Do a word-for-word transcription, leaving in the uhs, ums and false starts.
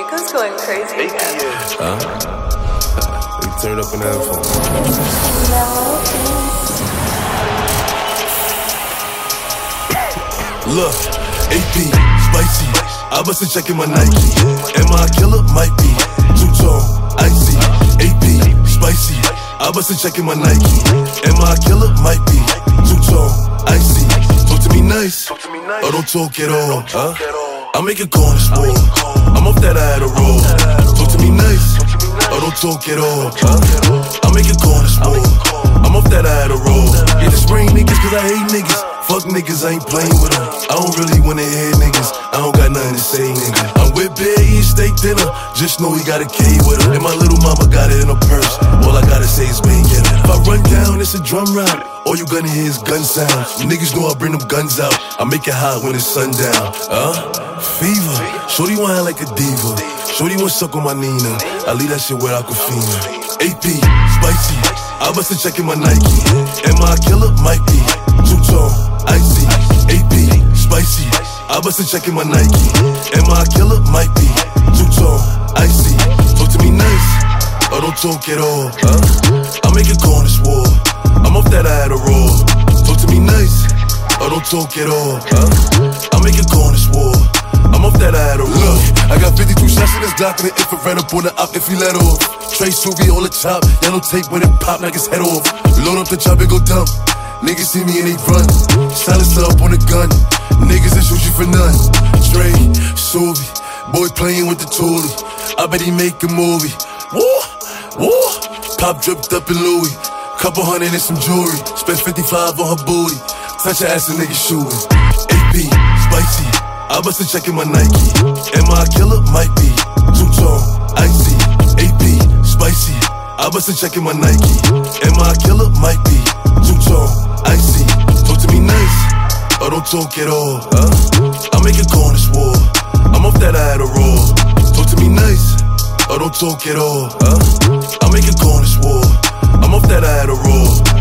Nico's going crazy again. Huh? We turned up an iPhone. Look, A P, spicy. I bust a check in my Nike. Am I a killer? Might be. Two-tone, icy. A P, spicy. I bust a check in my Nike. Am I a killer? Might be. Two-tone, icy. Talk to me nice, or don't talk at all. Huh? I make a corner sport. I'm off that I had a roll. Talk to me nice, or don't talk at all. Huh? I make a corner sport. I'm off that I had a roll. Yeah, just bring niggas cause I hate niggas. Fuck niggas, I ain't playing with them. I don't really wanna hear niggas. I don't got nothing to say, nigga. I'm with Bear eating steak dinner. Just know he got a K with her. And my little mama got it in her purse. All I gotta say is bang, get it. If I run down, it's a drum round. All you gonna hear is gun sounds. You niggas know I bring them guns out. I make it hot when it's sundown. Huh? Fever. Shorty wanna like a diva. Shorty wanna suck on my Nina. I leave that shit where Aquafina. A P, spicy. I bust a check in my Nike. Am I a killer? Might be. Two-tone, icy. A P, spicy. I bust a check in my Nike. Am I a killer? Might be. Two-tone, icy. Talk to me nice, or don't talk at all. Huh? I make a corner swore. I'm off that I had a roll. Talk to me nice, or don't talk at all. Huh? I make a corner swore. I'm off that I had a roll. Look, I got fifty-two shots in this Glock and the infrared up on the op if he let off. Trey Suvi on the top, yellow tape when it pop, knock his head off. Load up the chop and go dumb. Niggas see me and they run. Silencer up on the gun. Niggas that shoot you for none. Trey Suvi, boy playing with the toolie. I bet he make a movie. Woo, woo. Pop dripped up in Louis. Couple hundred and some jewelry. Spent fifty-five on her booty. Touch her ass and nigga shooting. A P, spicy. I bust a check in my Nike. Am I a killer? Might be. Two-tone, icy. A P, spicy. I bust a check in my Nike. Am I a killer? Might be. Two-tone, icy. Talk to me nice, or don't talk at all. Huh? I make a corner swore. I'm off that I had a roll. Talk to me nice, or don't talk at all. Huh? I make a corner swore. I'm off that I had a roll.